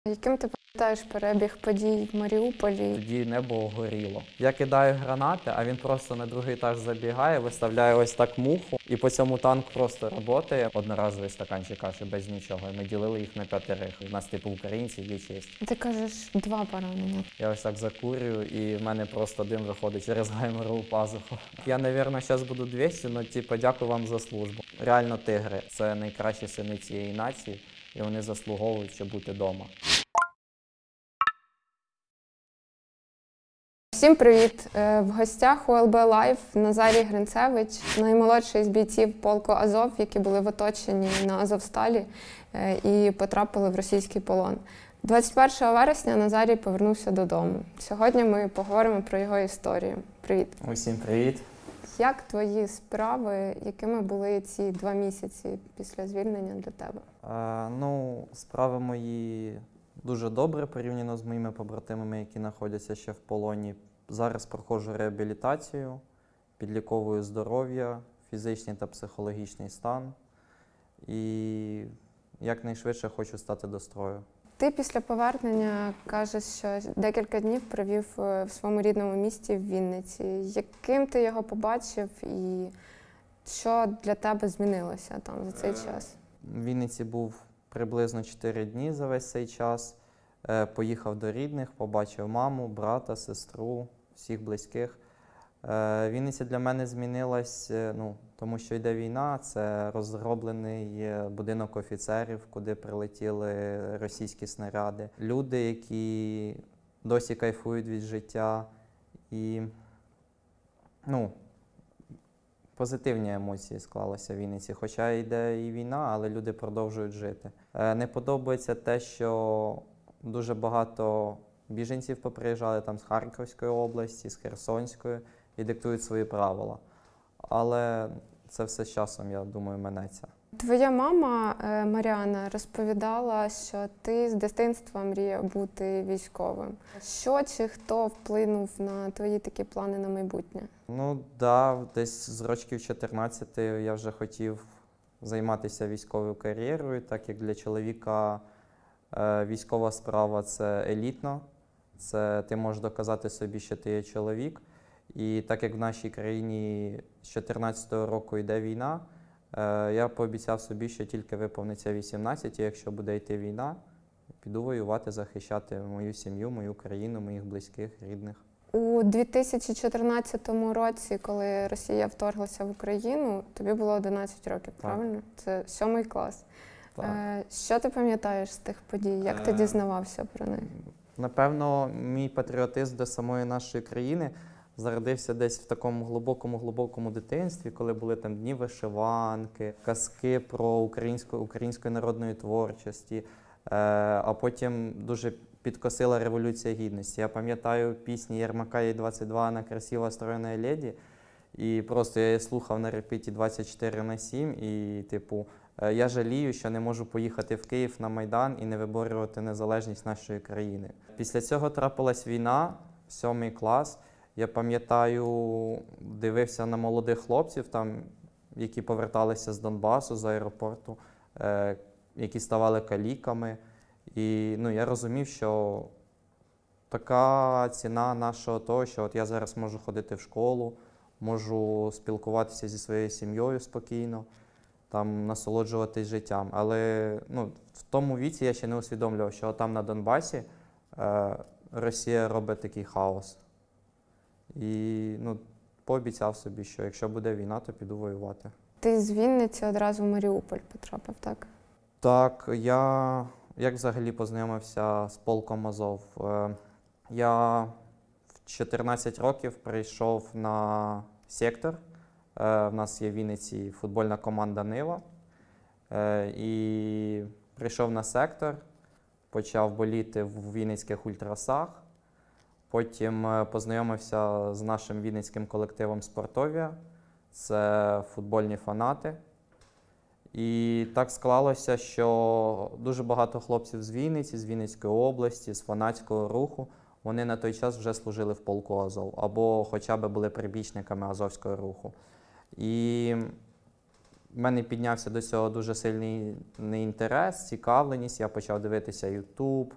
Яким ти пам'ятаєш перебіг подій в Маріуполі? Тоді небо горіло. Я кидаю гранати, а він просто на другий етаж забігає, виставляє ось так муху, і по цьому танк просто працює. Одноразовий стаканчик каші без нічого. І ми ділили їх на 5. У нас типу українці є честь. Ти кажеш 2 поранення. Я ось так закурюю, і в мене просто дим виходить через гайморову пазуху. Я, мабуть, зараз буду 200, але типу, дякую вам за службу. Реально тигри – це найкращі сини цієї нації, і вони заслуговують, щоб бути вдома. Всім привіт! В гостях у ЛБ Лайв Назарій Гринцевич, наймолодший з бійців полку Азов, які були в оточенні на Азовсталі і потрапили в російський полон. 21 вересня Назарій повернувся додому. Сьогодні ми поговоримо про його історію. Привіт! Усім привіт! Як твої справи, якими були ці 2 місяці після звільнення для тебе? Справи мої дуже добре порівняно з моїми побратимами, які знаходяться ще в полоні. Зараз проходжу реабілітацію, підліковую здоров'я, фізичний та психологічний стан і якнайшвидше хочу стати до строю. Ти після повернення кажеш, що декілька днів провів в своєму рідному місті в Вінниці. Яким ти його побачив і що для тебе змінилося там за цей час? В Вінниці був приблизно 4 дні за весь цей час. Поїхав до рідних, побачив маму, брата, сестру, всіх близьких. Вінниця для мене змінилась, тому що йде війна, це розроблений будинок офіцерів, куди прилетіли російські снаряди. Люди, які досі кайфують від життя і, позитивні емоції склалися в Вінниці. Хоча йде і війна, але люди продовжують жити. Не подобається те, що дуже багато біженців поприїжджали там з Харківської області, з Херсонської і диктують свої правила. Але це все з часом, я думаю, минеться. Твоя мама Маріана розповідала, що ти з дитинства мріяв бути військовим. Що чи хто вплинув на твої такі плани на майбутнє? Десь з років 14 я вже хотів займатися військовою кар'єрою, так як для чоловіка військова справа – це елітно, це ти можеш доказати собі, що ти є чоловік. І так як в нашій країні з 14-го року йде війна, я пообіцяв собі, що тільки виповниться 18, і якщо буде йти війна, піду воювати, захищати мою сім'ю, мою країну, моїх близьких, рідних. У 2014 році, коли Росія вторглася в Україну, тобі було 11 років, правильно? Це 7 клас. Так. Що ти пам'ятаєш з тих подій? Як ти дізнавався про них? Напевно, мій патріотизм до самої нашої країни зародився десь в такому глибокому дитинстві, коли були там дні вишиванки, казки про української народної творчості, а потім дуже підкосила Революція Гідності. Я пам'ятаю пісні Єрмака «Ей-22» «Она красива, стройна леді», і просто я її слухав на репіті 24/7, і я жалію, що не можу поїхати в Київ на Майдан і не виборювати незалежність нашої країни. Після цього трапилась війна, 7 клас. Я пам'ятаю, дивився на молодих хлопців, які поверталися з Донбасу, з аеропорту, які ставали каліками. І я розумів, що така ціна нашого того, що я зараз можу ходити в школу, можу спілкуватися зі своєю сім'єю спокійно, насолоджуватись життям. Але в тому віці я ще не усвідомлював, що там на Донбасі Росія робить такий хаос. І пообіцяв собі, що якщо буде війна, то піду воювати. Ти з Вінниці одразу в Маріуполь потрапив, так? Так, я взагалі познайомився з полком Азов. Я в 14 років прийшов на сектор. В нас є в Вінниці футбольна команда «Нива». І прийшов на сектор, почав боліти в вінницьких ультрасах. Потім познайомився з нашим вінницьким колективом «Спортовія». Це футбольні фанати. І так склалося, що дуже багато хлопців з Вінниці, з Вінницької області, з фанатського руху, вони на той час вже служили в полку Азов або хоча б були прибічниками Азовського руху. І в мене піднявся до цього дуже сильний інтерес, цікавленість. Я почав дивитися YouTube,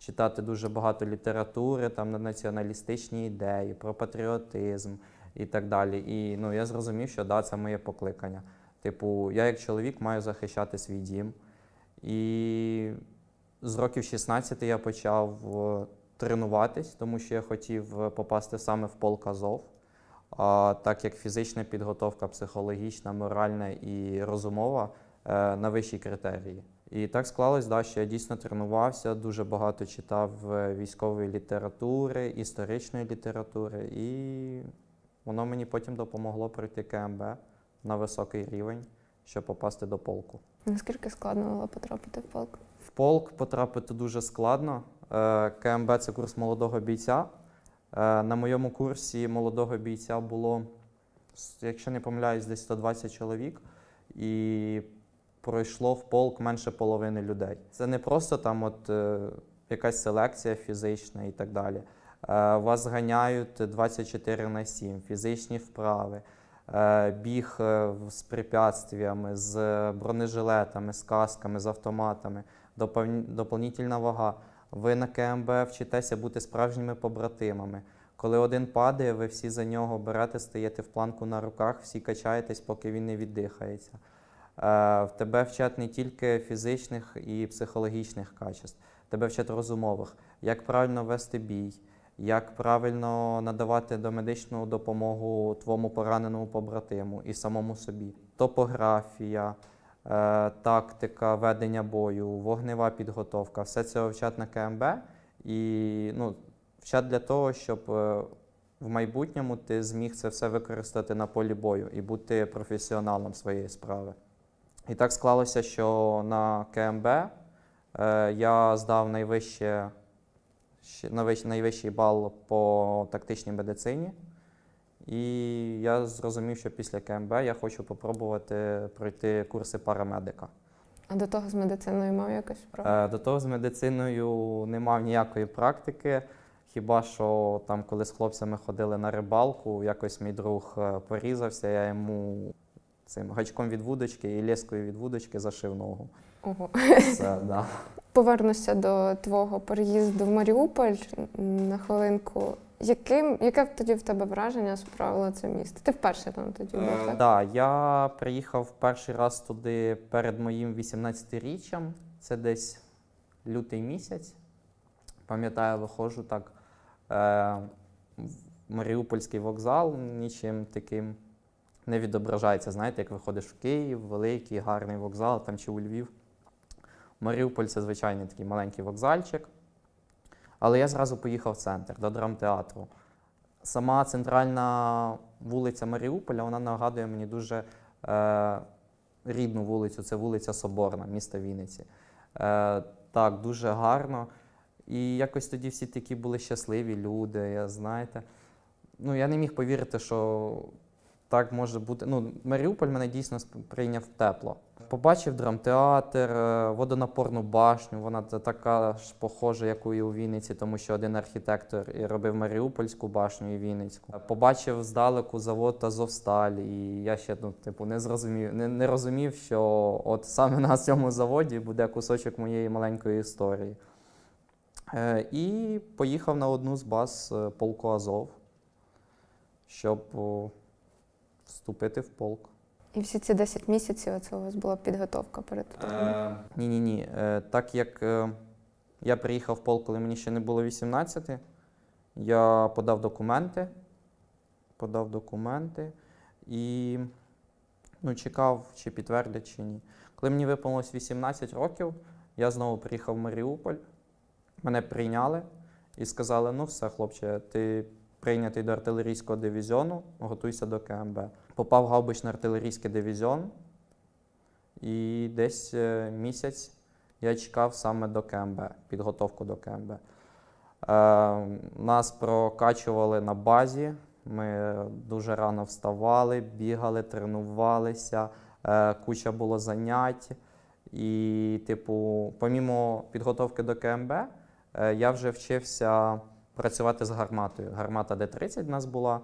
читати дуже багато літератури там, на націоналістичні ідеї, про патріотизм і так далі. І ну, я зрозумів, що да, це моє покликання. Типу, я як чоловік маю захищати свій дім. І з років 16 я почав тренуватись, тому що я хотів попасти саме в полк Азов. Так як фізична підготовка, психологічна, моральна і розумова на вищій критерії. І так склалось, да, що я дійсно тренувався, дуже багато читав військової літератури, історичної літератури, і воно мені потім допомогло пройти КМБ на високий рівень, щоб попасти до полку. Наскільки складно було потрапити в полк? В полк потрапити дуже складно. КМБ – це курс молодого бійця. На моєму курсі молодого бійця було, якщо не помиляюсь, десь 120 чоловік. І пройшло в полк менше половини людей. Це не просто там от якась селекція фізична і так далі. Вас ганяють 24/7, фізичні вправи, біг з препятствиями, з бронежилетами, з касками, з автоматами, доповнительна вага. Ви на КМБ вчитеся бути справжніми побратимами. Коли один падає, ви всі за нього берете, стаєте в планку на руках, всі качаєтесь, поки він не віддихається. В тебе вчать не тільки фізичних і психологічних качеств, тебе вчать розумових, як правильно вести бій, як правильно надавати домедичну допомогу твоєму пораненому побратиму і самому собі. Топографія, тактика ведення бою, вогнева підготовка – все це вчать на КМБ і ну, вчать для того, щоб в майбутньому ти зміг це все використати на полі бою і бути професіоналом своєї справи. І так склалося, що на КМБ я здав найвищий бал по тактичній медицині. І я зрозумів, що після КМБ я хочу спробувати пройти курси парамедика. А до того з медициною мав якось справу? До того з медициною не мав ніякої практики. Хіба що там, коли з хлопцями ходили на рибалку, якось мій друг порізався, я йому цим гачком від вудочки і лескою від вудочки зашив ногу. Ого. Це, да. Повернуся до твого переїзду в Маріуполь на хвилинку. Яке тоді в тебе враження справило це місто? Ти вперше там тоді був, так? Так, я приїхав перший раз туди перед моїм 18-річчям. Це десь лютий місяць. Пам'ятаю, виходжу так в Маріупольський вокзал, нічим таким не відображається. Знаєте, як виходиш в Київ, великий, гарний вокзал, там чи у Львів. Маріуполь – це звичайний такий маленький вокзальчик. Але я зразу поїхав в центр, до драмтеатру. Сама центральна вулиця Маріуполя, вона нагадує мені дуже рідну вулицю, це вулиця Соборна, міста Вінниці. Так, дуже гарно. І якось тоді всі такі були щасливі люди, знаєте. Ну, я не міг повірити, що так може бути. Ну, Маріуполь мене дійсно прийняв тепло. Побачив драмтеатр, водонапорну башню, вона така ж похожа, як і у Вінниці, тому що один архітектор і робив Маріупольську башню і Вінницьку. Побачив здалеку завод Азовсталь, і я ще не розумів, що от саме на цьому заводі буде кусочок моєї маленької історії. І поїхав на одну з баз полку Азов, щоб вступити в полк. І всі ці 10 місяців це у вас була підготовка перед тим? Ні. Так як я приїхав в полк, коли мені ще не було 18, я подав документи і чекав, чи підтвердять, чи ні. Коли мені виповнилось 18 років, я знову приїхав в Маріуполь, мене прийняли і сказали, ну все, хлопче, ти прийнятий до артилерійського дивізіону, готуйся до КМБ. Попав в гаубично-артилерійський дивізіон, і десь місяць я чекав саме до КМБ, підготовку до КМБ. Нас прокачували на базі, ми дуже рано вставали, бігали, тренувалися, куча було занять. І, помімо підготовки до КМБ, я вже вчився працювати з гарматою. Гармата Д-30 в нас була.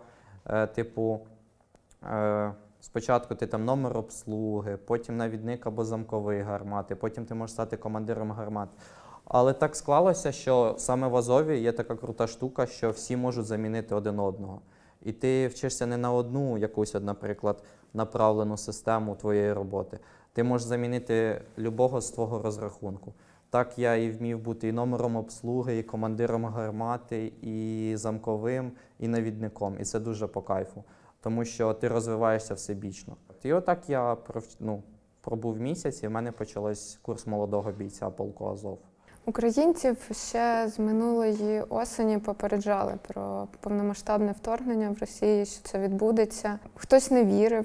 Спочатку ти там номер обслуги, потім навідник або замковий гармати, потім ти можеш стати командиром гармат. Але так склалося, що саме в Азові є така крута штука, що всі можуть замінити один одного. І ти вчишся не на одну якусь, наприклад, направлену систему твоєї роботи. Ти можеш замінити любого з твого розрахунку. Так я і вмів бути і номером обслуги, і командиром гармати, і замковим, і навідником. І це дуже по кайфу, тому що ти розвиваєшся всебічно. І отак я пробув місяць, і в мене почався курс молодого бійця полку Азов. Українців ще з минулої осені попереджали про повномасштабне вторгнення в Росії, що це відбудеться. Хтось не вірив.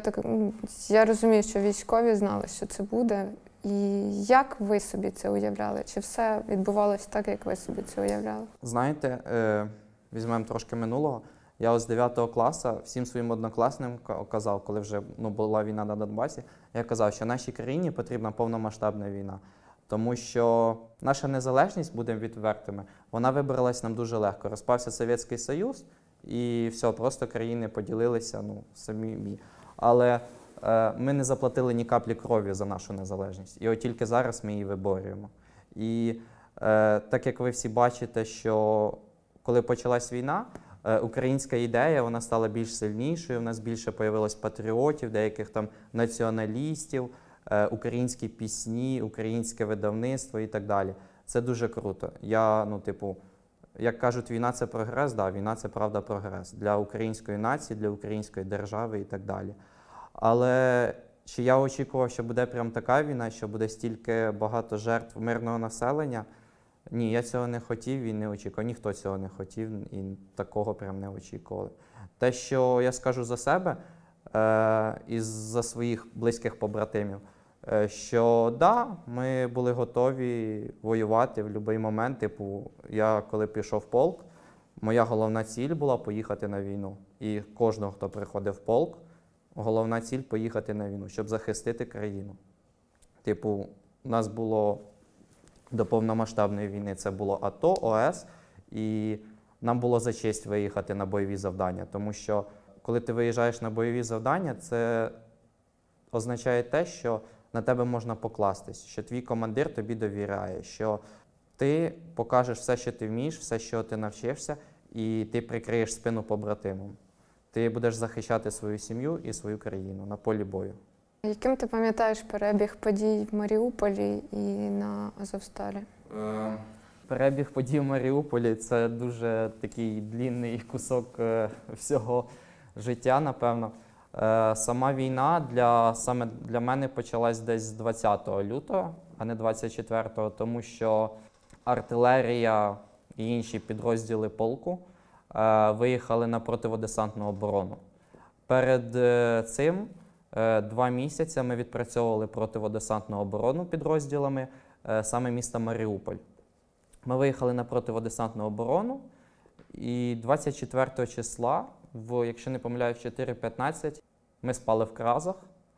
Я розумію, що військові знали, що це буде. І як ви собі це уявляли? Чи все відбувалося так, як ви собі це уявляли? Знаєте, візьмемо трошки минулого. Я з 9 класу всім своїм однокласникам казав, коли вже була війна на Донбасі, я казав, що нашій країні потрібна повномасштабна війна. Тому що наша незалежність, будемо відвертими, вона вибралась нам дуже легко. Розпався Совєтський Союз і все, просто країни поділилися самі. Але ми не заплатили ні каплі крові за нашу незалежність. І от тільки зараз ми її виборюємо. І так як ви всі бачите, що коли почалась війна, українська ідея, вона стала більш сильнішою, у нас більше появилось патріотів, деяких там націоналістів, українські пісні, українське видавництво і так далі. Це дуже круто. Як кажуть, війна – це прогрес, да, війна – це правда прогрес для української нації, для української держави і так далі. Але чи я очікував, що буде прям така війна, що буде стільки багато жертв мирного населення? Ні, я цього не хотів і не очікував. Ніхто цього не хотів і такого прям не очікували. Те, що я скажу за себе і за своїх близьких побратимів, що да, ми були готові воювати в будь-який момент. Я коли пішов в полк, моя головна ціль була поїхати на війну. І кожного, хто приходив в полк, головна ціль – поїхати на війну, щоб захистити країну. У нас було до повномасштабної війни, це було АТО, ОС, і нам було за честь виїхати на бойові завдання. Тому що, коли ти виїжджаєш на бойові завдання, це означає те, що на тебе можна покластись, що твій командир тобі довіряє, що ти покажеш все, що ти вмієш, все, що ти навчився, і ти прикриєш спину побратимам. Ти будеш захищати свою сім'ю і свою країну на полі бою. Яким ти пам'ятаєш перебіг подій в Маріуполі і на Азовсталі? Перебіг подій в Маріуполі – це дуже такий длінний кусок всього життя, напевно. Сама війна саме для мене почалась десь з 20 лютого, а не 24-го, тому що артилерія і інші підрозділи полку виїхали на противодесантну оборону. Перед цим 2 місяці ми відпрацьовували противодесантну оборону підрозділами саме міста Маріуполь. Ми виїхали на противодесантну оборону і 24 числа, якщо не помиляюсь, 4:15, ми спали в Кразах.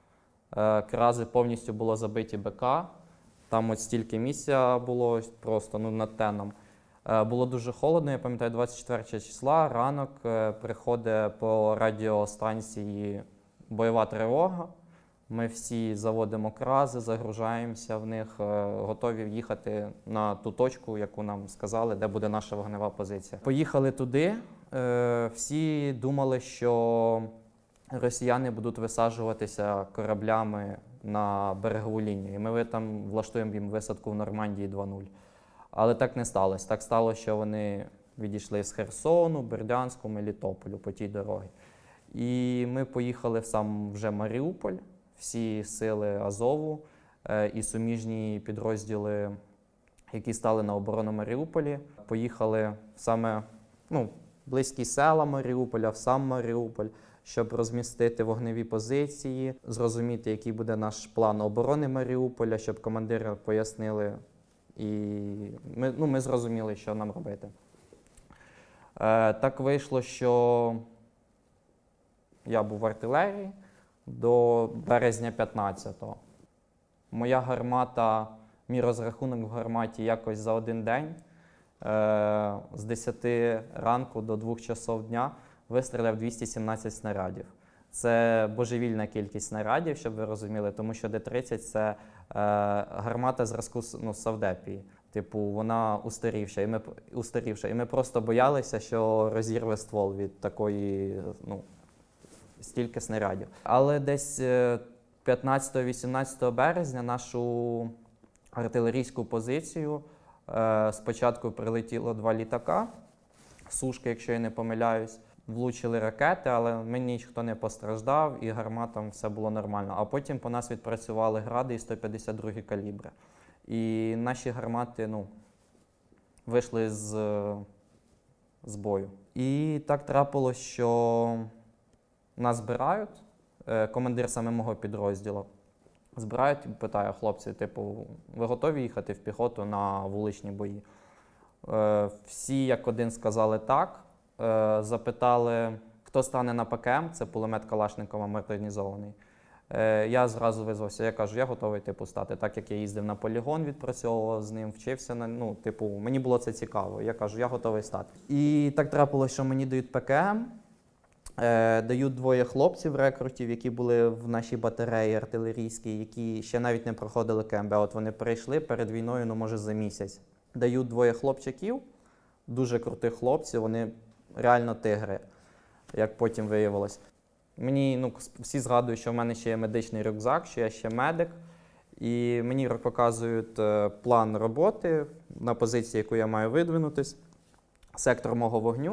Крази повністю було забиті БК. Там от стільки місця було просто над теном. Було дуже холодно, я пам'ятаю, 24 числа, ранок, приходить по радіостанції бойова тривога. Ми всі заводимо крази, загружаємося в них, готові їхати на ту точку, яку нам сказали, де буде наша вогнева позиція. Поїхали туди, всі думали, що росіяни будуть висаджуватися кораблями на берегову лінію. І ми там влаштуємо їм висадку в Нормандії 2.0. Але так не сталося. Так сталося, що вони відійшли з Херсону, Бердянську, Мелітополю по тій дорозі. І ми поїхали в сам вже Маріуполь, всі сили Азову і суміжні підрозділи, які стали на оборону Маріуполі. Поїхали в саме близькі села Маріуполя, в сам Маріуполь, щоб розмістити вогневі позиції, зрозуміти, який буде наш план оборони Маріуполя, щоб командири пояснили. І ми зрозуміли, що нам робити. Так вийшло, що я був в артилерії до березня 15-го. Моя гармата, мій розрахунок в гарматі якось за один день з 10 ранку до 2 часов дня вистріляв 217 снарядів. Це божевільна кількість снарядів, щоб ви розуміли, тому що Д-30 – це гармата зразку Савдепії. Типу, вона устарівша. І ми просто боялися, що розірве ствол від такої, ну, стільки снарядів. Але десь 15-18 березня нашу артилерійську позицію спочатку прилетіло 2 літака, сушки, якщо я не помиляюсь. Влучили ракети, але мені ніхто не постраждав і гарматам все було нормально. А потім по нас відпрацювали гради і 152 калібри. І наші гармати, ну, вийшли з бою. І так трапилось, що нас збирають, командир саме мого підрозділу, збирають і питає: хлопці, типу, ви готові їхати в піхоту на вуличні бої? Всі як один сказали так. Запитали, хто стане на ПКМ, це кулемет Калашникова модернізований. Я зразу визвався, я кажу, я готовий, типу, стати. Так як я їздив на полігон, відпрацьовував з ним, вчився, ну, типу, мені було це цікаво. Я кажу, я готовий стати. І так трапилося, що мені дають ПКМ, дають 2 хлопців рекрутів, які були в нашій батареї артилерійській, які ще навіть не проходили КМБ. От вони прийшли перед війною, ну, може, за місяць. Дають 2 хлопчаків, дуже крутих хлопців, вони реально тигри, як потім виявилось. Мені, ну, всі згадують, що в мене ще є медичний рюкзак, що я ще медик. І мені показують план роботи на позиції, яку я маю видвинутись, сектор мого вогню.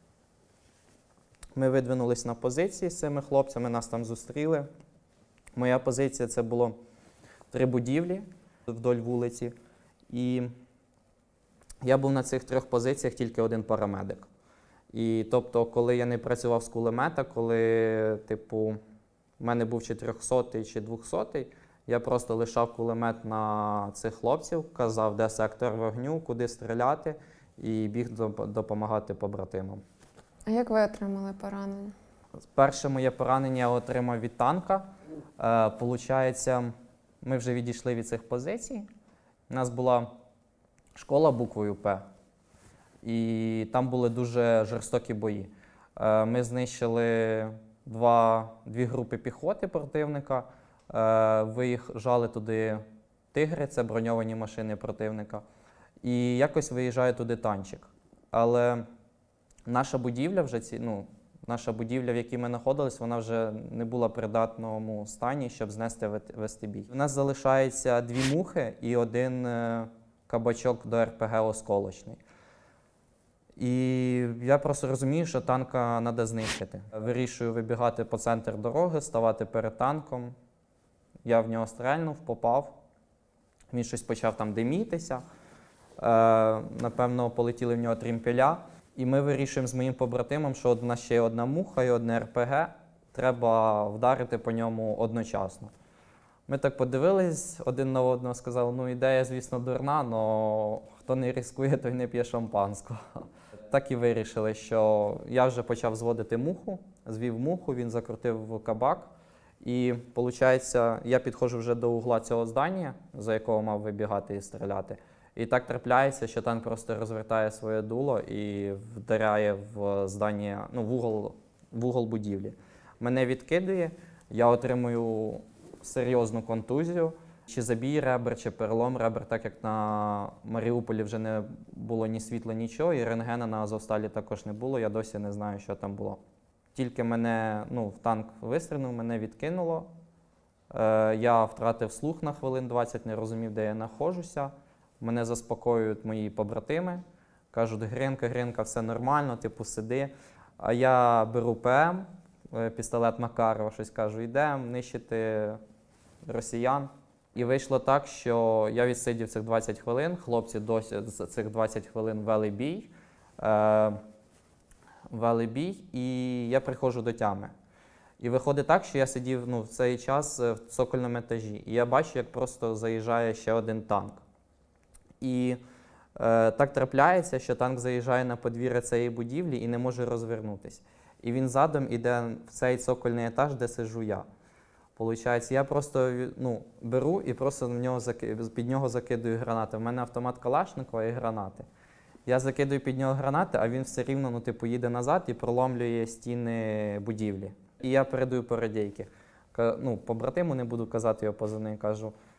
Ми видвинулись на позиції з цими хлопцями, нас там зустріли. Моя позиція – це було 3 будівлі вдоль вулиці. І я був на цих 3 позиціях тільки 1 парамедик. І тобто, коли я не працював з кулемета, коли, типу, в мене був 400-й чи 200-й, я просто лишав кулемет на цих хлопців, казав, де сектор вогню, куди стріляти, і біг допомагати побратимам. А як ви отримали поранення? Перше моє поранення я отримав від танка. Получається, ми вже відійшли від цих позицій. У нас була школа буквою П. І там були дуже жорстокі бої. Ми знищили 2 групи піхоти противника, виїжджали туди тигри, це броньовані машини противника, і якось виїжджає туди танчик. Але наша будівля, в якій ми знаходились, вона вже не була в придатному стані, щоб вести бій. У нас залишається 2 мухи і 1 кабачок до РПГ осколочний. І я просто розумію, що танка треба знищити. Вирішую вибігати по центру дороги, ставати перед танком. Я в нього стрельнув, попав. Він щось почав там димітися. Напевно, полетіли в нього трімпеля. І ми вирішуємо з моїм побратимом, що в нас ще є 1 муха і 1 РПГ. Треба вдарити по ньому одночасно. Ми так подивились один на одного, сказали, ну ідея, звісно, дурна, але хто не ризикує, той не п'є шампанського. Так і вирішили, що я вже почав зводити муху, звів муху, він закрутив кабак. І, виходить, я підходжу вже до угла цього здання, за якого мав вибігати і стріляти. І так трапляється, що танк просто розвертає своє дуло і вдаряє в здання, ну, в угол будівлі. Мене відкидує, я отримую серйозну контузію. Чи забій ребер, чи перелом ребер, так як на Маріуполі вже не було ні світла, нічого, і рентгена на Азовсталі також не було, я досі не знаю, що там було. Тільки мене, ну, в танк вистрілив, мене відкинуло. Я втратив слух на хвилин 20, не розумів, де я знаходжуся. Мене заспокоюють мої побратими, кажуть, Гринка, все нормально, типу, сиди. А я беру ПМ, пістолет Макарова, щось кажу, йдемо нищити росіян. І вийшло так, що я відсидів цих 20 хвилин, хлопці досі за цих 20 хвилин вели бій, і я приходжу до тями. І виходить так, що я сидів, ну, в цей час в цокольному етажі, і я бачу, як просто заїжджає ще 1 танк. І так трапляється, що танк заїжджає на подвір'я цієї будівлі і не може розвернутися. І він задом іде в цей цокольний етаж, де сиджу я. Получається, я просто, ну, беру і просто під нього закидую гранати. У мене автомат Калашникова і гранати. Я закидую під нього гранати, а він все рівно, ну, типу, їде назад і проломлює стіни будівлі. І я передаю по радійки. Ну, побратиму, не буду казати його позивний, кажу,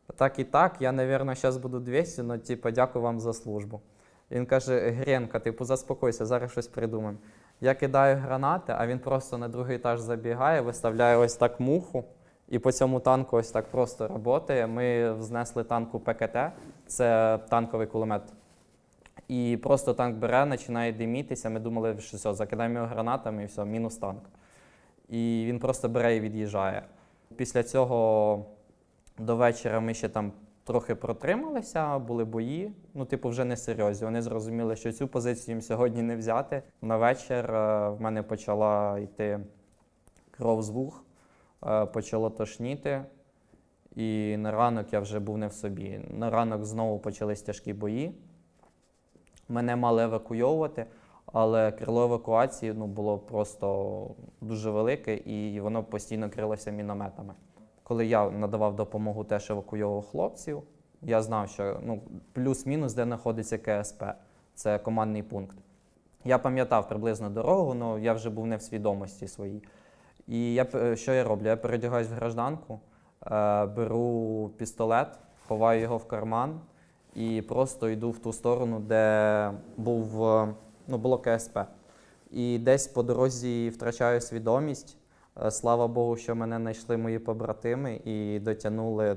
Так і так, я, мабуть, зараз буду 200, але, типу, дякую вам за службу. Він каже, Гренка, типу, заспокойся, зараз щось придумаємо. Я кидаю гранати, а він просто на другий етаж забігає, виставляє ось так муху, і по цьому танку ось так просто працює. Ми знесли танку ПКТ, це танковий кулемет. І просто танк бере, починає димітися, ми думали, що все, закидаємо його гранатами і все, мінус танк. І він просто бере і від'їжджає. Після цього до вечора ми ще там трохи протрималися, були бої, ну, типу, вже не серйозні. Вони зрозуміли, що цю позицію їм сьогодні не взяти. На вечір в мене почала йти кров з вух, почало тошніти, і на ранок я вже був не в собі. На ранок знову почались тяжкі бої. Мене мали евакуйовувати, але крило евакуації було просто дуже велике, і воно постійно крилося мінометами. Коли я надавав допомогу, теж евакуйовував хлопців, я знав, що плюс-мінус, де знаходиться КСП, це командний пункт. Я пам'ятав приблизно дорогу, але я вже був не в свідомості своїй. І що я роблю? Я переодягаюсь в гражданку, беру пістолет, ховаю його в карман і просто йду в ту сторону, де було КСП. І десь по дорозі втрачаю свідомість. Слава Богу, що мене знайшли мої побратими і дотягнули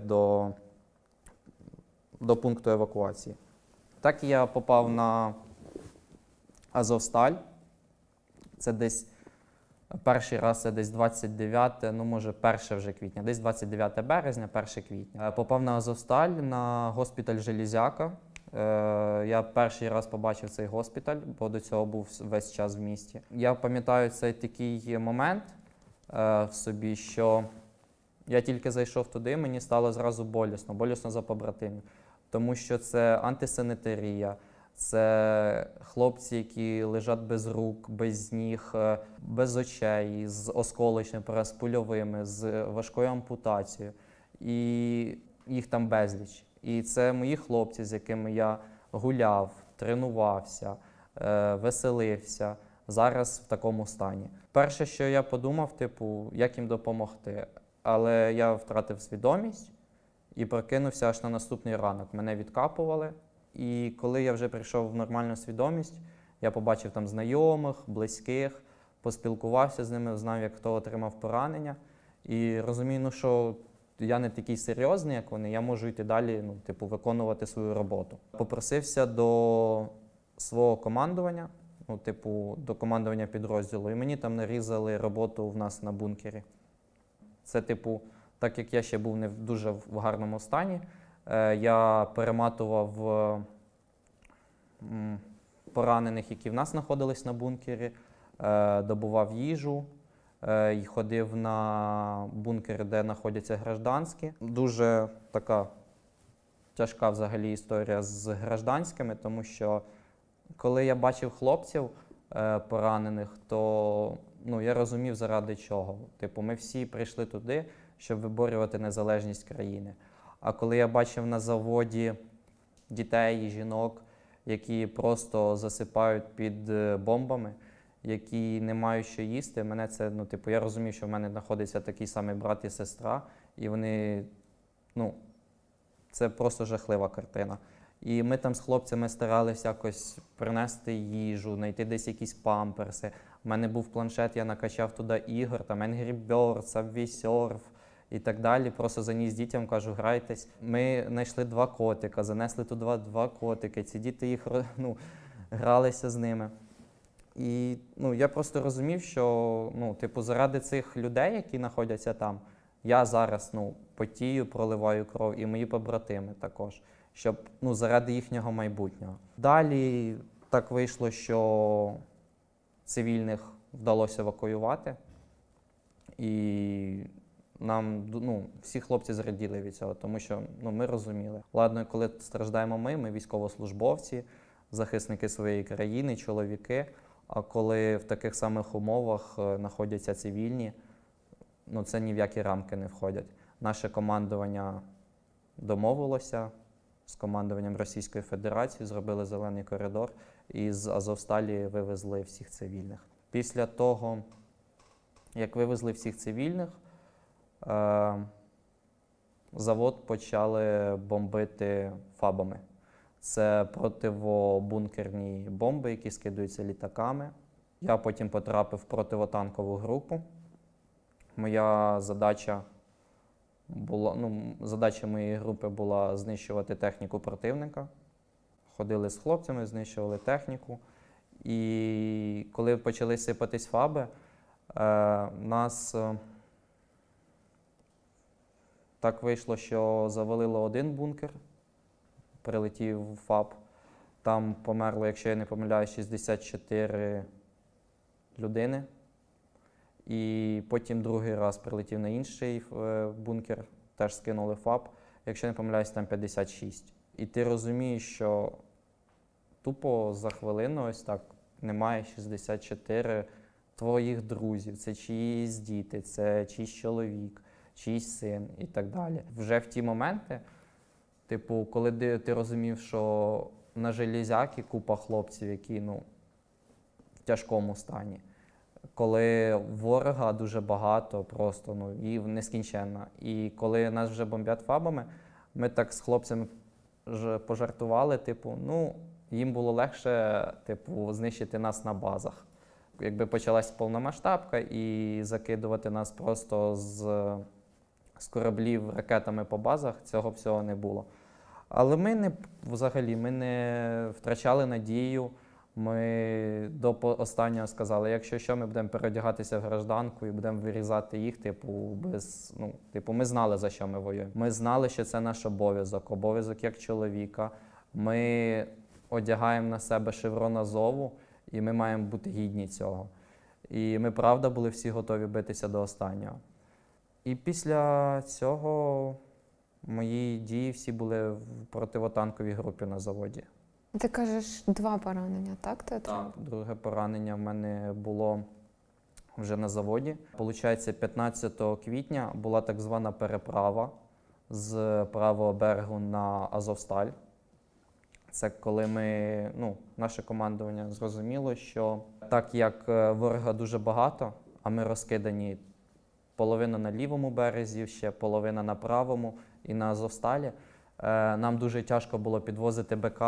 до пункту евакуації. Так я попав на Азовсталь. Це десь перший раз, це десь 29, може 1 вже квітня, десь 29 березня, 1 квітня. Попав на Азовсталь, на госпіталь Железяка. Я перший раз побачив цей госпіталь, бо до цього був весь час в місті. Я пам'ятаю цей такий момент в собі, що я тільки зайшов туди, мені стало зразу болісно за побратимів. Тому що це антисанітарія, це хлопці, які лежать без рук, без ніг, без очей, з осколочними пораненнями, з пульовими, з важкою ампутацією. І їх там безліч. І це мої хлопці, з якими я гуляв, тренувався, веселився, зараз в такому стані. Перше, що я подумав, як їм допомогти. Але я втратив свідомість і прокинувся аж на наступний ранок. Мене відкапували. І коли я вже прийшов в нормальну свідомість, я побачив там знайомих, близьких, поспілкувався з ними, знав, як хто отримав поранення. І розумію, що я не такий серйозний, як вони, я можу йти далі, виконувати свою роботу. Попросився до свого командування, до командування підрозділу, і мені там нарізали роботу в нас на бункері. Це, так як я ще був не в дуже гарному стані, я перематував поранених, які в нас знаходились на бункері, добував їжу, і ходив на бункери, де знаходяться гражданські. Дуже така тяжка взагалі історія з гражданськими, тому що коли я бачив хлопців поранених, то я розумів, заради чого. Ми всі прийшли туди, щоб виборювати незалежність країни. А коли я бачив на заводі дітей і жінок, які просто засипають під бомбами, які не мають що їсти, мене це, я розумів, що в мене знаходиться такий самий брат і сестра, і вони, це просто жахлива картина. І ми там з хлопцями старалися якось принести їжу, знайти десь якісь памперси. У мене був планшет, я накачав туди ігор, там Angry Birds, Subway Surf і так далі. Просто заніс дітям, кажу, грайтесь. Ми знайшли 2 котика, занесли туди 2 котики. Ці діти їх, гралися з ними. І я просто розумів, що заради цих людей, які знаходяться там, я зараз потію, проливаю кров, і мої побратими також, щоб заради їхнього майбутнього. Далі так вийшло, що цивільних вдалося евакуювати, і нам всі хлопці зраділи від цього, тому що ми розуміли. Ладно, коли страждаємо ми військовослужбовці, захисники своєї країни, чоловіки, а коли в таких самих умовах знаходяться цивільні, це ні в які рамки не входять. Наше командування домовилося з командуванням Російської Федерації, зробили зелений коридор і з Азовсталі вивезли всіх цивільних. Після того, як вивезли всіх цивільних, завод почали бомбити фабами. Це противобункерні бомби, які скидаються літаками. Я потім потрапив в противотанкову групу. Моя задача задача моєї групи була знищувати техніку противника. Ходили з хлопцями, знищували техніку. І коли почали сипатись фаби, нас так вийшло, що завалило один бункер, прилетів фаб. Там померло, якщо я не помиляюсь, 64 людини. І потім другий раз прилетів на інший бункер, теж скинули фаб. Якщо не помиляюсь, там 56. І ти розумієш, що тупо за хвилину ось так немає 64 твоїх друзів. Це чиїсь діти, це чийсь чоловік, чийсь син і так далі. Вже в ті моменти, типу, коли ти розумів, що на железяки купа хлопців, які в тяжкому стані. Коли ворога дуже багато, просто і нескінченно. І коли нас вже бомблять фабами, ми так з хлопцями пожартували, типу, їм було легше, типу, знищити нас на базах. Якби почалась повномасштабка і закидувати нас просто з кораблів ракетами по базах, цього всього не було. Але ми не втрачали надію. Ми до останнього сказали, якщо що, ми будемо переодягатися в гражданку і будемо вирізати їх, ми знали, за що ми воюємо. Ми знали, що це наш обов'язок як чоловіка. Ми одягаємо на себе шеврон Азову, і ми маємо бути гідні цього. І ми, правда, були всі готові битися до останнього. І після цього мої дії всі були в противотанковій групі на заводі. Ти кажеш, 2 поранення, так? Так, друге поранення в мене було вже на заводі. Получається, 15 квітня була так звана переправа з правого берегу на Азовсталь. Це коли наше командування зрозуміло, що так як ворога дуже багато, а ми розкидані половина на лівому березі, ще половина на правому і на Азовсталі, нам дуже тяжко було підвозити БК,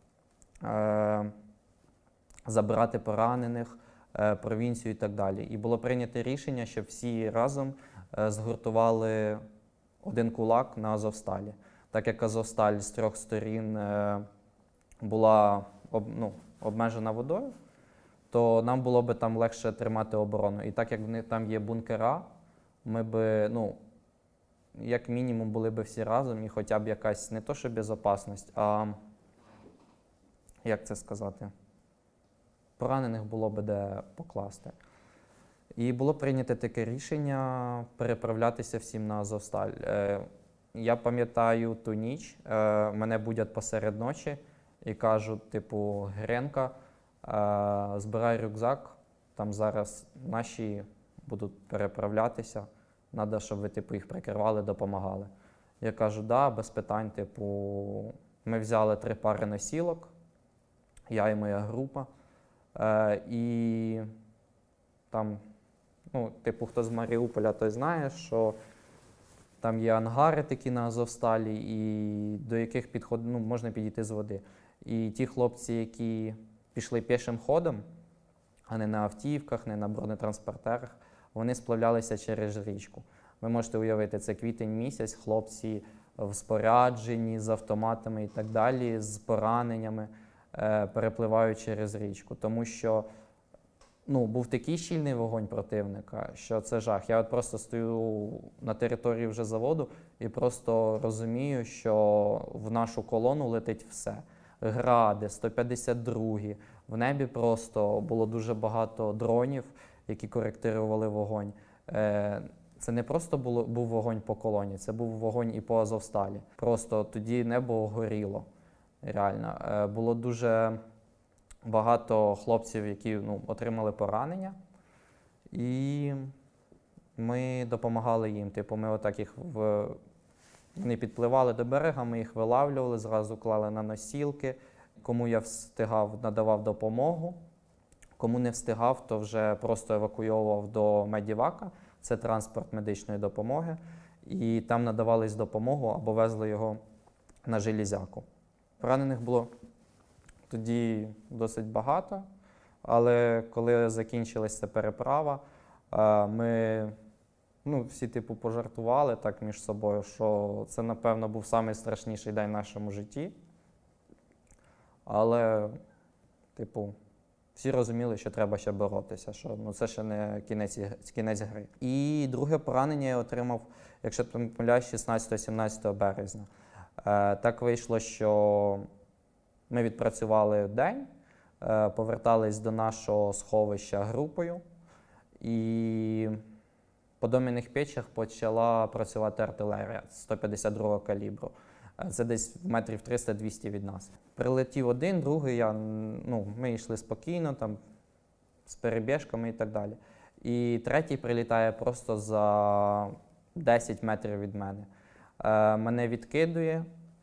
забирати поранених, провінцію і так далі. І було прийнято рішення, щоб всі разом згуртували один кулак на Азовсталі. Так як Азовсталь з 3 сторін була обмежена водою, то нам було б там легше тримати оборону. І так як там є бункера, ми б, як мінімум, були б всі разом і хоча б якась не то, що безпечність, а як це сказати, поранених було б де покласти. І було прийнято таке рішення переправлятися всім на Азовсталь. Я пам'ятаю ту ніч, мене будять посеред ночі і кажуть, типу, Гренка, збирай рюкзак, там зараз наші будуть переправлятися, треба, щоб ви їх прикривали, допомагали. Я кажу, да, без питань, ми взяли 3 пари носілок, я і моя група, і там, хто з Маріуполя, той знає, що там є ангари такі на Азовсталі, і до яких можна підійти з води. І ті хлопці, які пішли пішим ходом, а не на автівках, не на бронетранспортерах, вони сплавлялися через річку. Ви можете уявити, це квітень місяць, хлопці в спорядженні, з автоматами і так далі, з пораненнями, перепливають через річку. Тому що був такий щільний вогонь противника, що це жах. Я просто стою на території вже заводу і просто розумію, що в нашу колону летить все. Гради, 152-гі. В небі просто було дуже багато дронів, які коректирували вогонь. Це не просто був вогонь по колоні, це був вогонь і по Азовсталі. Просто тоді небо горіло, реально. Було дуже багато хлопців, які отримали поранення, і ми допомагали їм. Ми отак їх вони підпливали до берега, ми їх вилавлювали, зразу клали на носілки. Кому я встигав, надавав допомогу. Кому не встигав, то вже просто евакуйовував до медівака. Це транспорт медичної допомоги. і там надавались допомогу або везли його на Железяку. Поранених було тоді досить багато, але коли закінчилася переправа, ми всі пожартували так між собою, що це, напевно, був найстрашніший день в нашому житті. Але, всі розуміли, що треба ще боротися, що це ще не кінець гри. І друге поранення я отримав, якщо не помиляюсь, 16-17 березня. Так вийшло, що ми відпрацювали день, повертались до нашого сховища групою, і по Дом'яних Печах почала працювати артилерія 152-го калібру. Це десь метрів 300-200 від нас. Прилетів один, другий, ми йшли спокійно, там, з перебіжками і так далі. І третій прилітає просто за 10 метрів від мене. Мене відкидує,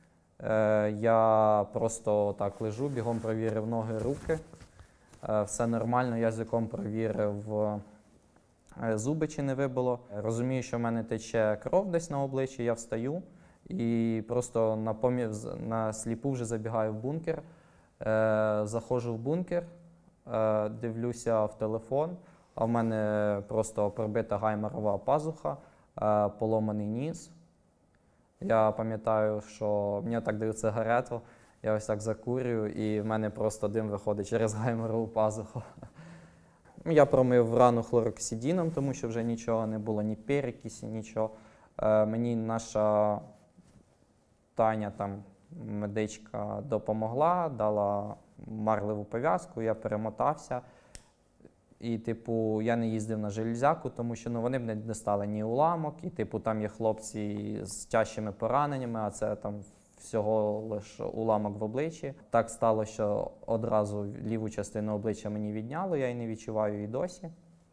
я просто так лежу, бігом провірив ноги, руки. Все нормально, язиком провірив, зуби чи не вибило. Розумію, що в мене тече кров десь на обличчі, я встаю. І просто на сліпу вже забігаю в бункер, заходжу в бункер, дивлюся в телефон, а в мене просто пробита гаймерова пазуха, поломаний ніс. Я пам'ятаю, що мені так дають сигарету, я ось так закурюю, і в мене просто дим виходить через гаймерову пазуху. Я промив рану хлороксидином, тому що вже нічого не було, ні перекисі, нічого. Мені наша Таня, там, медичка, допомогла, дала марливу пов'язку, я перемотався. І, я не їздив на Железяку, тому що вони б не дістали ні уламок, і, там є хлопці з тяжкими пораненнями, а це там всього лише уламок в обличчі. Так стало, що одразу ліву частину обличчя мені відняло, я її не відчуваю і досі.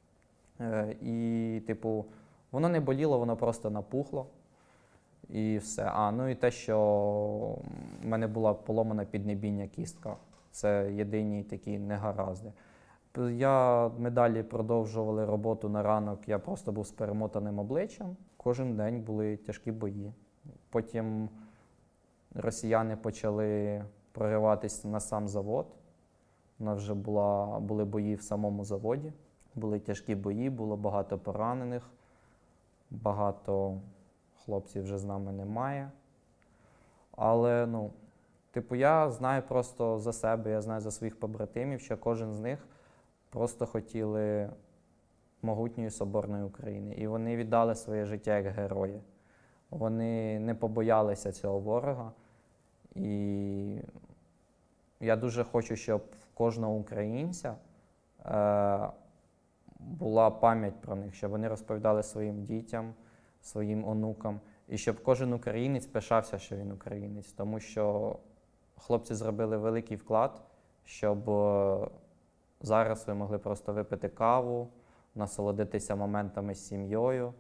І, воно не боліло, воно просто напухло. І все. І те, що в мене була поломана піднебіння кістка. Це єдині такі негаразди. Ми далі продовжували роботу на ранок, я просто був з перемотаним обличчям. Кожен день були тяжкі бої. Потім росіяни почали прориватися на сам завод. У нас вже були бої в самому заводі. Були тяжкі бої, було багато поранених, багато хлопців вже з нами немає. Але, я знаю просто за себе, я знаю за своїх побратимів, що кожен з них просто хотіли могутньої соборної України. І вони віддали своє життя як герої. Вони не побоялися цього ворога. І я дуже хочу, щоб в кожного українця була пам'ять про них, щоб вони розповідали своїм дітям, своїм онукам. І щоб кожен українець пишався, що він українець. Тому що хлопці зробили великий вклад, щоб зараз ви могли просто випити каву, насолодитися моментами з сім'єю,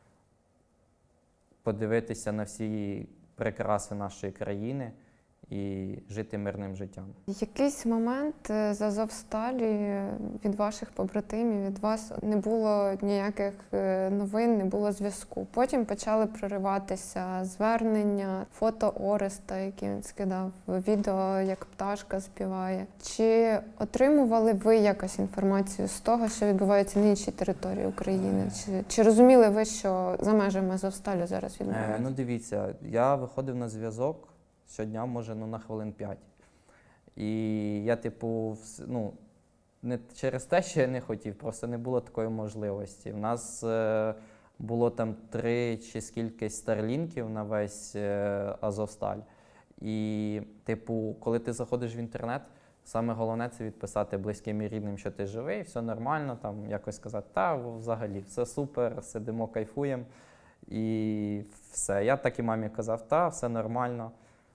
подивитися на всі прикраси нашої країни і жити мирним життям. Якийсь момент з Азовсталі від ваших побратимів, від вас не було ніяких новин, не було зв'язку. Потім почали прориватися звернення, фото Ореста, які він скидав, відео, як пташка співає. Чи отримували ви якось інформацію з того, що відбувається на іншій території України? Чи розуміли ви, що за межами Азовсталі зараз відбувається? Дивіться, я виходив на зв'язок щодня, може, на хвилин 5. І я, не через те, що я не хотів, просто не було такої можливості. У нас було там 3 чи скількись старлінків на весь Азовсталь. І, коли ти заходиш в інтернет, саме головне – це відписати близьким і рідним, що ти живий, все нормально, там якось сказати, взагалі, все супер, сидимо, кайфуємо. І все. Я так і мамі казав, все нормально.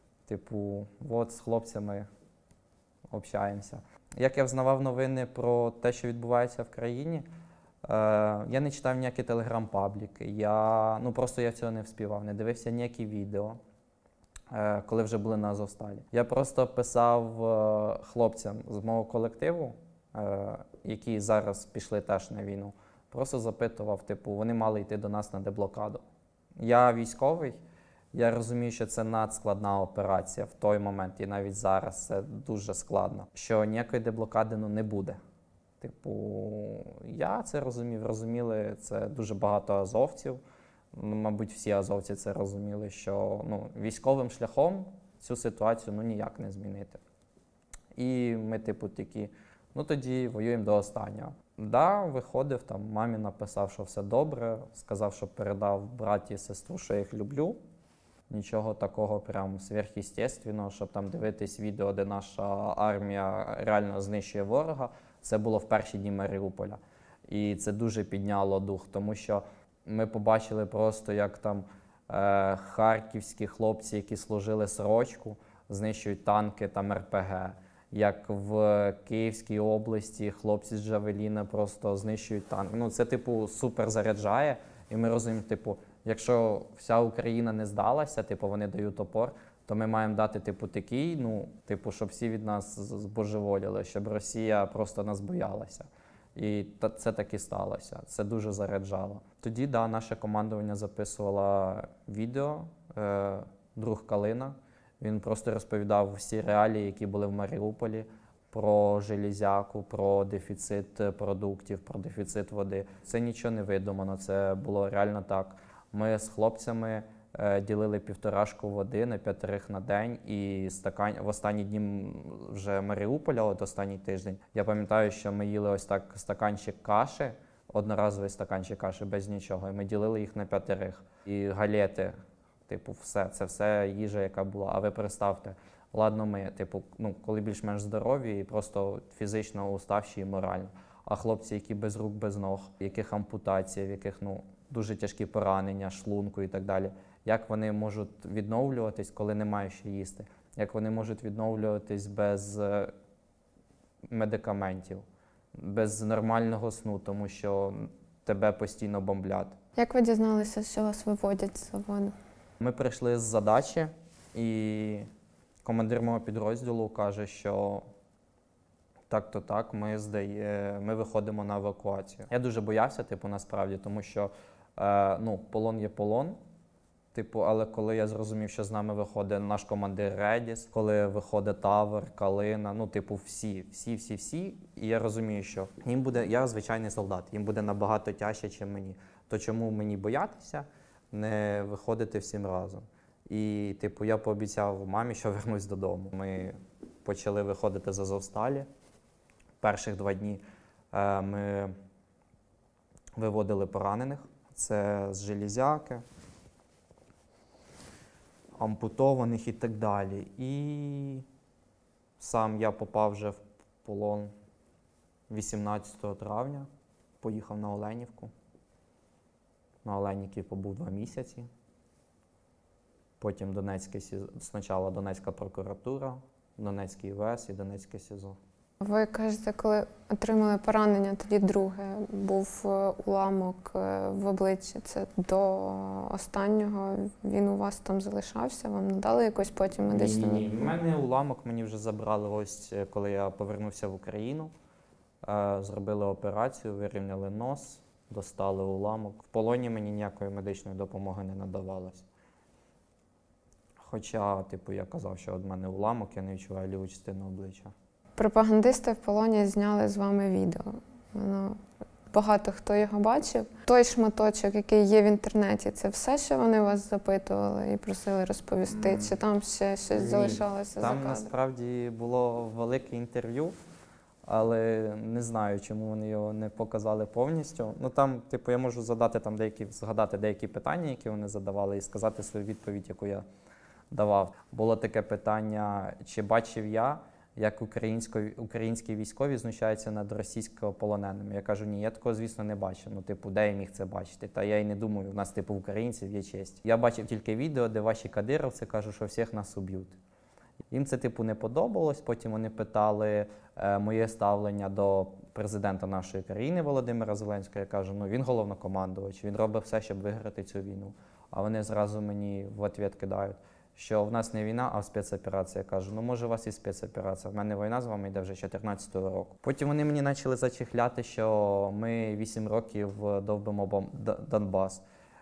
З хлопцями общаємося. Як я взнавав новини про те, що відбувається в країні, я не читав ніякі телеграм-пабліки, просто я цього не вспівав, не дивився ніякі відео, коли вже були на Азовсталі. Я просто писав хлопцям з мого колективу, які зараз пішли теж на війну, просто запитував, вони мали йти до нас на деблокаду. Я військовий, я розумію, що це надскладна операція в той момент, і навіть зараз це дуже складно, що ніякої деблокади не буде. Типу, я це розуміли, це дуже багато азовців, мабуть, всі азовці це розуміли, що військовим шляхом цю ситуацію ніяк не змінити. І ми, типу, такі, тоді воюємо до останнього. Да, виходив, там мамі написав, що все добре, сказав, що передав браті і сестру, що я їх люблю. Нічого такого прям сверхъестественного, щоб там дивитись відео, де наша армія реально знищує ворога. Це було в перші дні Маріуполя. І це дуже підняло дух, тому що ми побачили просто, як там харківські хлопці, які служили сорочку, знищують танки там РПГ. Як в Київській області хлопці з Джавеліна просто знищують танки. Це, типу, супер заряджає. І ми розуміємо, типу, якщо вся Україна не здалася, типу, вони дають опор, то ми маємо дати, типу, такий, щоб всі від нас збожеволіли, щоб Росія просто нас боялася. І це так і сталося. Це дуже заряджало. Тоді, да, наше командування записувало відео, друг Калина. Він просто розповідав всі реалії, які були в Маріуполі, про железяку, про дефіцит продуктів, про дефіцит води. Це нічого не видумано, це було реально так. Ми з хлопцями ділили 1,5 води на 5 на день, і в останні дні вже Маріуполя, останній тиждень, я пам'ятаю, що ми їли ось так стаканчик каші, одноразовий стаканчик каші без нічого, і ми ділили їх на 5. І галети, типу, це все їжа, яка була. А ви представте, ладно ми, типу, коли більш-менш здорові і просто фізично уставші і морально. А хлопці, які без рук, без ног, яких ампутація, в яких, дуже тяжкі поранення, шлунку і так далі. Як вони можуть відновлюватись, коли немає що їсти? Як вони можуть відновлюватись без медикаментів, без нормального сну, тому що тебе постійно бомблять. Як ви дізналися, що вас виводять з заводу? Ми прийшли з задачі, і командир мого підрозділу каже, що так-то так, ми виходимо на евакуацію. Я дуже боявся, насправді, тому що полон є полон. Але коли я зрозумів, що з нами виходить наш командир Редіс, коли виходить Тавр, Калина, всі, і я розумію, що я звичайний солдат, їм буде набагато тяжче, ніж мені. То чому мені боятися не виходити всім разом? І, я пообіцяв мамі, що вернусь додому. Ми почали виходити з Азовсталі. Перших 2 дні ми виводили поранених. Це з железяки, ампутованих і так далі. І сам я попав вже в полон 18 травня, поїхав на Оленівку. На Оленівці побув 2 місяці. Потім спочатку Донецька прокуратура, Донецький ВС і Донецьке СІЗО. Ви кажете, коли отримали поранення, тоді друге, був уламок в обличчі. Це до останнього він у вас там залишався? Вам надали якусь потім медичну? Ні. В мене уламок мені вже забрали ось, коли я повернувся в Україну. Зробили операцію, вирівняли нос, достали уламок. В полоні мені ніякої медичної допомоги не надавалось. Хоча, я казав, що від мене уламок, я не відчуваю ліву частину обличчя. Пропагандисти в полоні зняли з вами відео. Багато хто його бачив. Той шматочок, який є в інтернеті, це все, що вони вас запитували і просили розповісти? Чи там ще щось залишалося за кадром? Там насправді було велике інтерв'ю, але не знаю, чому вони його не показали повністю. Там, я можу згадати деякі питання, які вони задавали, і сказати свою відповідь, яку я давав. Було таке питання, чи бачив я, як українські військові знущаються над російськополоненими. Я кажу, ні, я такого, звісно, не бачив. Де я міг це бачити? Та я й не думаю, у нас, українців є честь. Я бачив тільки відео, де ваші кадировці кажуть, що всіх нас уб'ють. Їм це, не подобалось. Потім вони питали моє ставлення до президента нашої країни Володимира Зеленського. Я кажу, він головнокомандувач, він робить все, щоб виграти цю війну. А вони зразу мені в відповідь кидають, що в нас не війна, а спецоперація. Я кажу, може у вас і спецоперація. В мене війна з вами йде вже 14-го року. Потім вони мені почали зачехляти, що ми 8 років довбимо Донбас.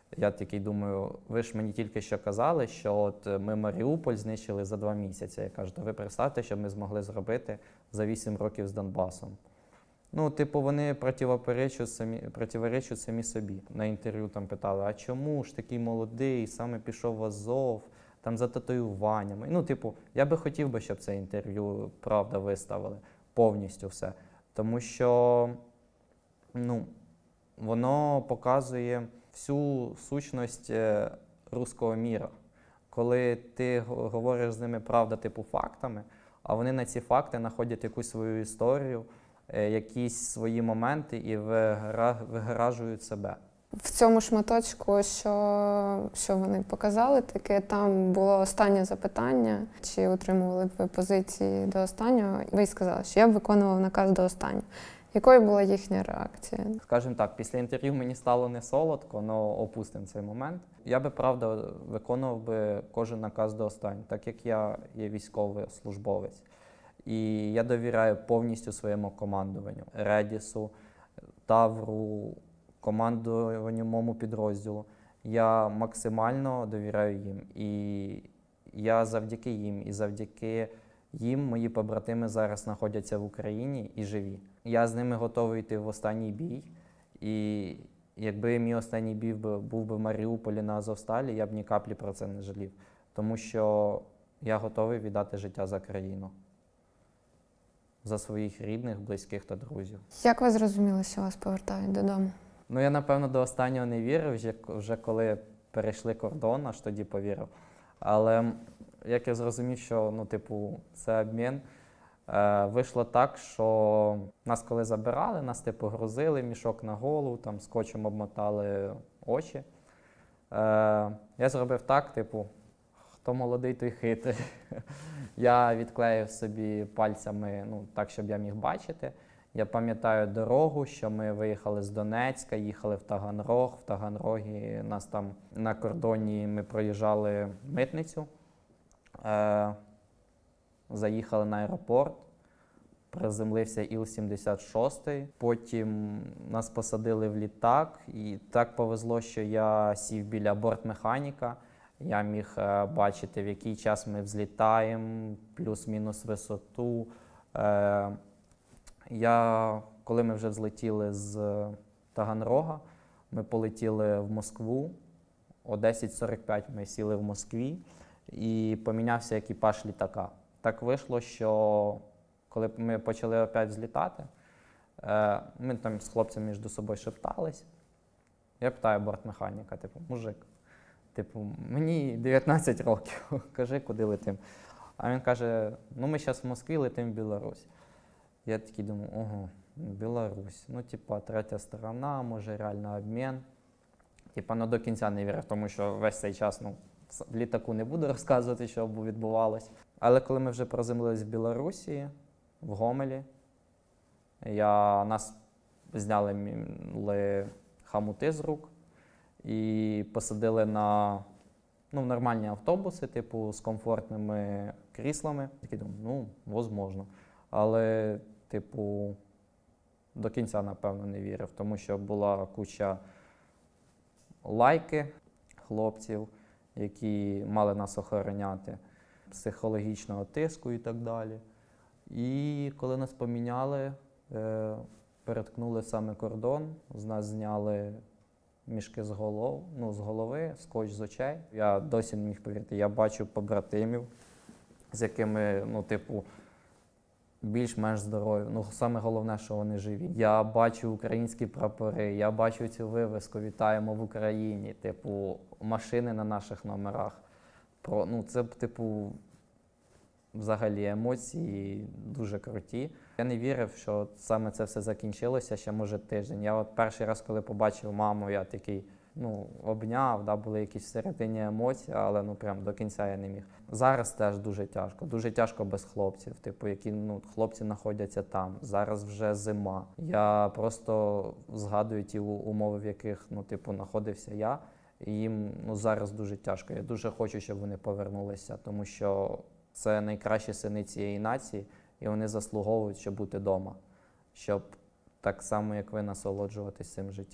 Я такий думаю, ви ж мені тільки що казали, що от ми Маріуполь знищили за 2 місяці. Я кажу, то ви представте, що ми змогли зробити за 8 років з Донбасом. Ну, типу, вони противоречать самі собі. На інтерв'ю там питали, а чому ж такий молодий, саме пішов в Азов, там за татуюваннями. Ну, типу, я би хотів би, щоб це інтерв'ю, правда, виставили повністю все. Тому що, ну, воно показує всю сущність руського міра. Коли ти говориш з ними, правда, типу, фактами, а вони на ці факти знаходять якусь свою історію, якісь свої моменти і вигражують себе. В цьому шматочку, що вони показали, таке там було останнє запитання, чи утримували б ви позиції до останнього. Ви сказали, що я б виконував наказ до останнього. Якою була їхня реакція? Скажімо так, після інтерв'ю мені стало не солодко, але опустимо цей момент. Я би, правда, виконував би кожен наказ до останнього, так як я є військовий службовець. І я довіряю повністю своєму командуванню, Редісу, Тавру, командуванню моєму підрозділу. Я максимально довіряю їм. І я завдяки їм, і завдяки їм мої побратими зараз знаходяться в Україні і живі. Я з ними готовий йти в останній бій. І якби мій останній бій був би в Маріуполі на Азовсталі, я б ні каплі про це не жалів. Тому що я готовий віддати життя за країну. За своїх рідних, близьких та друзів. Як ви зрозуміли, що вас повертають додому? Ну, я, напевно, до останнього не вірив, вже коли перейшли кордон, аж тоді повірив. Але як я зрозумів, що, ну, типу, це обмін, вийшло так, що нас коли забирали, нас, типу, грузили, мішок на голову, там, скотчем обмотали очі. Я зробив так, типу, хто молодий, той хитрий. Я відклеїв собі пальцями, ну, так, щоб я міг бачити. Я пам'ятаю дорогу, що ми виїхали з Донецька, їхали в Таганрог. В Таганрогі нас там на кордоні ми проїжджали митницю, заїхали на аеропорт, приземлився Іл-76, потім нас посадили в літак, і так повезло, що я сів біля бортмеханіка. Я міг бачити, в який час ми взлітаємо, плюс-мінус висоту. Коли ми вже взлетіли з Таганрога, ми полетіли в Москву. О 10:45 ми сіли в Москві і помінявся екіпаж літака. Так вийшло, що коли ми почали опять взлітати, ми там з хлопцями між собою шептались. Я питаю бортмеханіка, типу, мужик, типу, мені 19 років, кажи, куди летим. А він каже, ну ми зараз в Москві летимо в Білорусь. Я такий думаю, ого, Білорусь, ну типа третя сторона, може реально обмін. Типа, ну до кінця не вірив, тому що весь цей час, ну, в літаку не буду розказувати, що відбувалось. Але коли ми вже приземлились в Білорусі, в Гомелі, нас зняли хамути з рук і посадили на нормальні автобуси, типу, з комфортними кріслами. Такий думаю, ну, можливо. Але, типу, до кінця, напевно, не вірив, тому що була куча лайки хлопців, які мали нас охороняти, психологічного тиску і так далі. І коли нас поміняли, переткнули саме кордон, з нас зняли мішки з голови, скотч з очей. Я досі не міг повірити. Я бачу побратимів, з якими, більш-менш здорові. Саме головне, що вони живі. Я бачу українські прапори, я бачу цю вивеску «Вітаємо в Україні», машини на наших номерах. Це, взагалі емоції дуже круті. Я не вірив, що саме це все закінчилося ще, може, тиждень. Я перший раз, коли побачив маму, я такий, обняв, були якісь всередині емоції, але прям до кінця я не міг. Зараз теж дуже тяжко без хлопців, які хлопці знаходяться там. Зараз вже зима. Я просто згадую ті умови, в яких знаходився я, і їм зараз дуже тяжко. Я дуже хочу, щоб вони повернулися, тому що це найкращі сини цієї нації, і вони заслуговують, щоб бути вдома, щоб так само, як ви, насолоджуватись цим життям.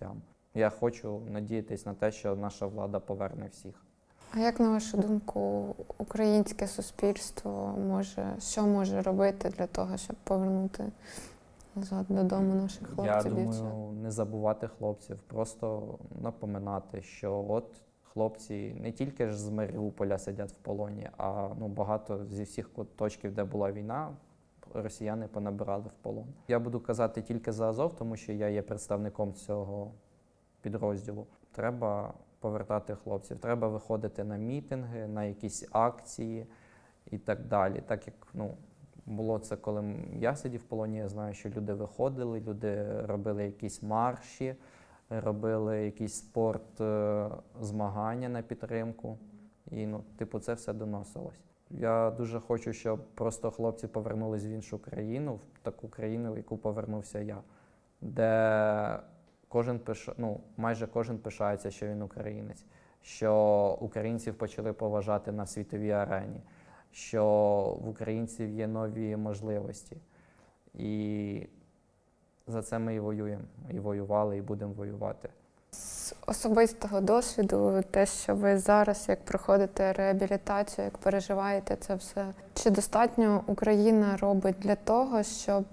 Я хочу надіятись на те, що наша влада поверне всіх. А як, на вашу думку, українське суспільство що може робити для того, щоб повернути назад додому наших хлопців? Я думаю, не забувати хлопців, просто напоминати, що от хлопці не тільки ж з Маріуполя сидять в полоні, а багато зі всіх точків, де була війна, росіяни понабирали в полон. Я буду казати тільки за Азов, тому що я є представником цього підрозділу. Треба повертати хлопців, треба виходити на мітинги, на якісь акції і так далі. Так як було це, коли я сидів в полоні, я знаю, що люди виходили, люди робили якісь марші, робили якісь змагання на підтримку. І це все доносилось. Я дуже хочу, щоб просто хлопці повернулись в іншу країну, в таку країну, в яку повернувся я, де майже кожен пишається, що він українець, що українців почали поважати на світовій арені, що в українців є нові можливості. І за це ми і воюємо, і воювали, і будемо воювати. З особистого досвіду, те, що ви зараз, як проходите реабілітацію, як переживаєте це все, чи достатньо Україна робить для того, щоб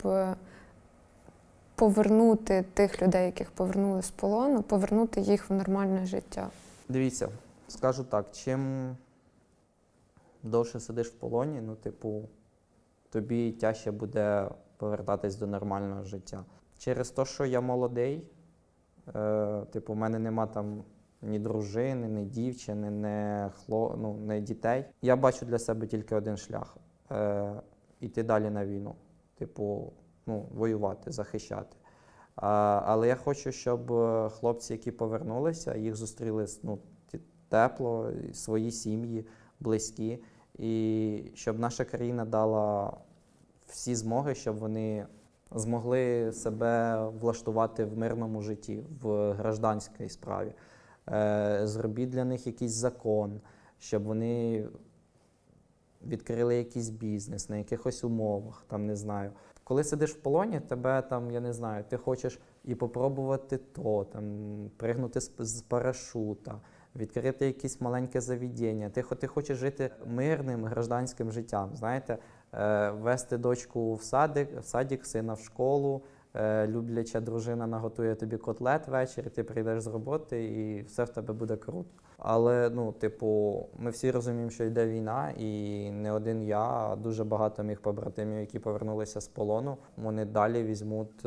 повернути тих людей, яких повернули з полону, повернути їх в нормальне життя? Дивіться, скажу так, чим довше сидиш в полоні, тобі тяжче буде повертатись до нормального життя. Через те, що я молодий, в мене нема там ні дружини, ні дівчини, ні дітей. Я бачу для себе тільки один шлях – іти далі на війну. Воювати, захищати. Але я хочу, щоб хлопці, які повернулися, їх зустріли тепло, свої сім'ї, близькі. І щоб наша країна дала всі змоги, щоб вони змогли себе влаштувати в мирному житті, в гражданській справі. Зробіть для них якийсь закон, щоб вони відкрили якийсь бізнес на якихось умовах, не знаю. Коли сидиш в полоні, тебе ти хочеш і попробувати пригнути з парашута, відкрити якесь маленьке заведення. Ти хочеш жити мирним гражданським життям, знаєте, вести дочку в садик, сина в школу, любляча дружина наготує тобі котлет ввечері, ти прийдеш з роботи і все в тебе буде круто. Але, ми всі розуміємо, що йде війна, і не один я, а дуже багато моїх побратимів, які повернулися з полону, вони далі візьмуть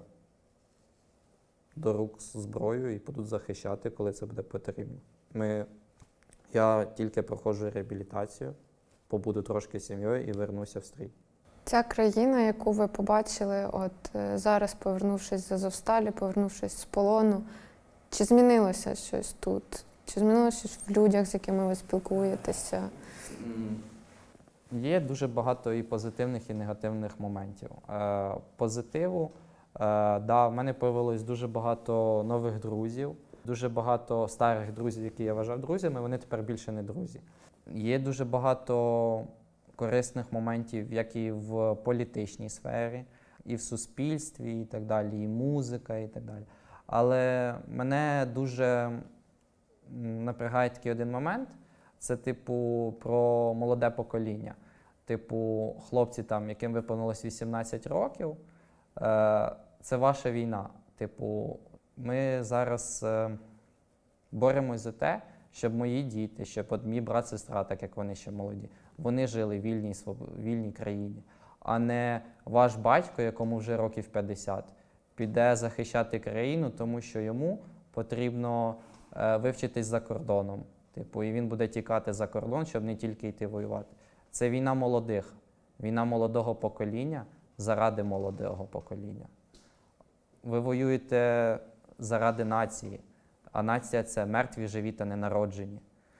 до рук зброю і будуть захищати, коли це буде потрібно. Я тільки проходжу реабілітацію, побуду трошки з сім'єю і вернуся в стрій. Ця країна, яку ви побачили, зараз, повернувшись з Азовсталі, повернувшись з полону, чи змінилося щось тут? Чи змінилося щось в людях, з якими ви спілкуєтеся? Є дуже багато і позитивних, і негативних моментів. Позитиву, в мене появилось дуже багато нових друзів, дуже багато старих друзів, які я вважав друзями, вони тепер більше не друзі. Є дуже багато корисних моментів, як і в політичній сфері, і в суспільстві, і так далі, і музика, і так далі. Але мене дуже напрягає такий один момент, це про молоде покоління. Хлопці, яким виповнилось 18 років, це ваша війна. Ми зараз боремось за те, щоб мої діти, щоб мій брат, сестра, так як вони ще молоді, вони жили в вільній країні, а не ваш батько, якому вже років 50, піде захищати країну, тому що йому потрібно вивчитись за кордоном. І він буде тікати за кордон, щоб не тільки йти воювати. Це війна молодих, війна молодого покоління заради молодого покоління. Ви воюєте заради нації, а нація – це мертві, живі та ненароджені.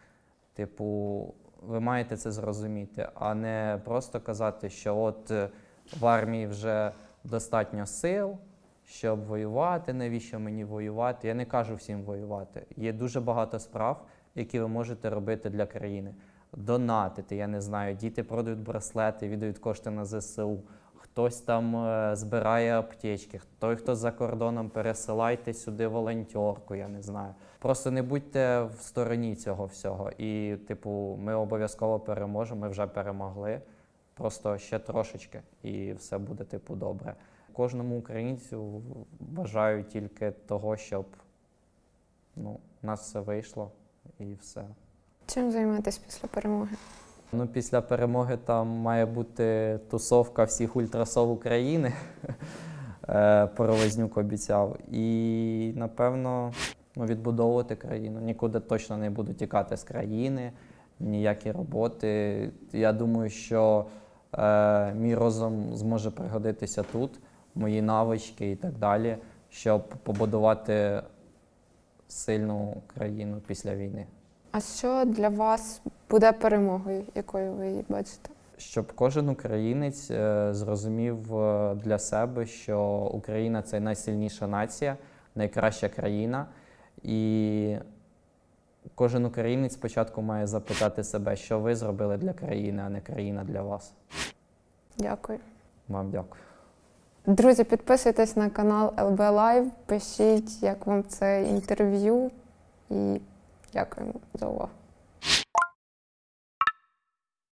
Ви маєте це зрозуміти, а не просто казати, що в армії вже достатньо сил, щоб воювати, навіщо мені воювати. Я не кажу всім воювати. Є дуже багато справ, які ви можете робити для країни. Донатити, діти продають браслети, віддають кошти на ЗСУ. хтось там збирає аптечки, той, хто за кордоном, пересилайте сюди волонтерку, я не знаю. Просто не будьте в стороні цього всього. І, типу, ми обов'язково переможемо, ми вже перемогли. Просто ще трошечки, і все буде, типу, добре. Кожному українцю бажаю тільки того, щоб у нас все вийшло і все. Чим займатися після перемоги? Після перемоги там має бути тусовка всіх ультрасов України. Паровознюк обіцяв. І, напевно, відбудовувати країну. Нікуди точно не буду тікати з країни, ніякі роботи. Я думаю, що мій розум зможе пригодитися тут, мої навички і так далі, щоб побудувати сильну країну після війни. А що для вас буде перемогою, якою ви її бачите? Щоб кожен українець зрозумів для себе, що Україна – це найсильніша нація, найкраща країна. І кожен українець спочатку має запитати себе, що ви зробили для країни, а не країна для вас. Дякую. Вам дякую. Друзі, підписуйтесь на канал ЛБ Live, пишіть, як вам це інтерв'ю, і дякуємо за увагу.